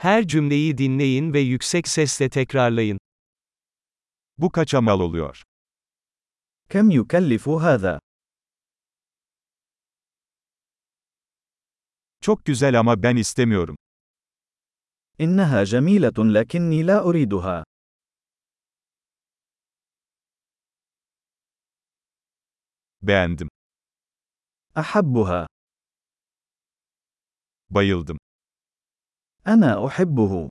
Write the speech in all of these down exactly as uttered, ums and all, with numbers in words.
Her cümleyi dinleyin ve yüksek sesle tekrarlayın. Bu kaça mal oluyor? كم يكلف هذا؟ Çok güzel ama ben istemiyorum. إنها جميلة لكني لا أريدها. Beğendim. أحبها. Bayıldım. أنا أحبه.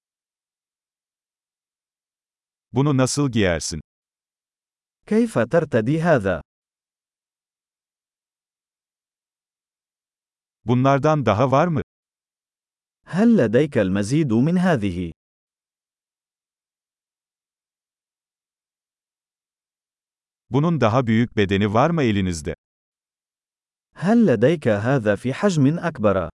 Bunu nasıl giyersin? كيف ترتدي هذا؟ Bunlardan daha var mı? هل لديك المزيد من هذه؟ Bunun daha büyük bedeni var mı elinizde? هل لديك هذا في حجم أكبر؟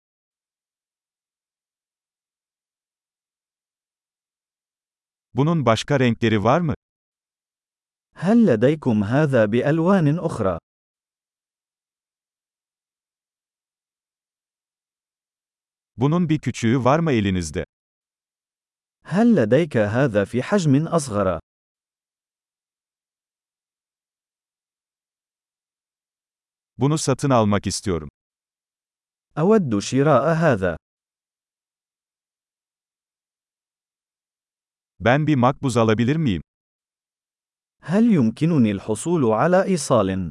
Bunun başka renkleri var mı? هل لديكم هذا بألوان أخرى؟ Bunun bir küçüğü var mı elinizde? هل لديك هذا في حجم أصغر؟ Bunu satın almak istiyorum. أود شراء هذا. Ben bir makbuz alabilir miyim? هل يمكنني الحصول على إيصال؟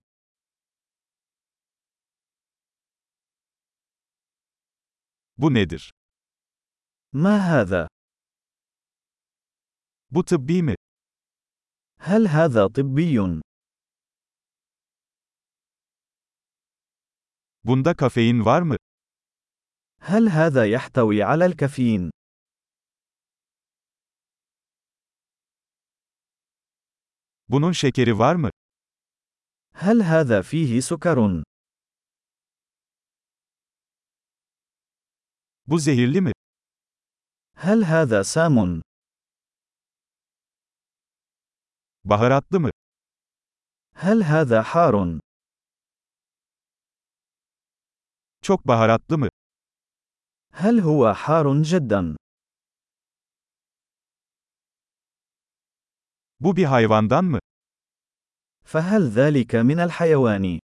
Bu nedir? ما هذا؟ Bu tıbbi mi? هل هذا طبي؟ Bunda kafein var mı? هل هذا يحتوي على الكافيين؟ Bunun şekeri var mı? هل هذا فيه سكر؟ Bu zehirli mi? هل هذا سام؟ Baharatlı mı? هل هذا حار؟ Çok baharatlı mı? هل هو حار جدا؟ Bu bir hayvandan mı? فهل ذلك من الحيوان؟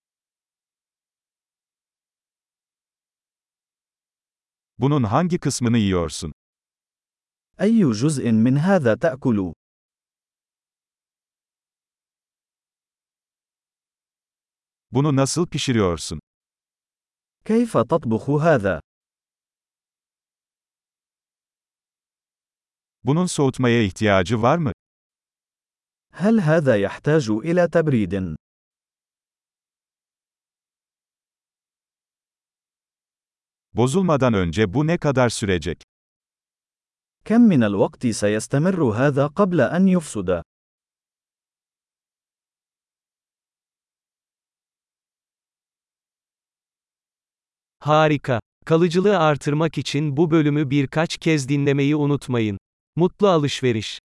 Bunun hangi kısmını yiyorsun? أي جزء من هذا تأكل؟ Bunu nasıl pişiriyorsun? كيف تطبخ هذا؟ Bunun soğutmaya ihtiyacı var mı? هل هذا يحتاج إلى تبريد؟ Bozulmadan önce bu ne kadar sürecek? كم من الوقت سيستمر هذا قبل أن يفسد؟ Harika. Kalıcılığı artırmak için bu bölümü birkaç kez dinlemeyi unutmayın. Mutlu alışveriş.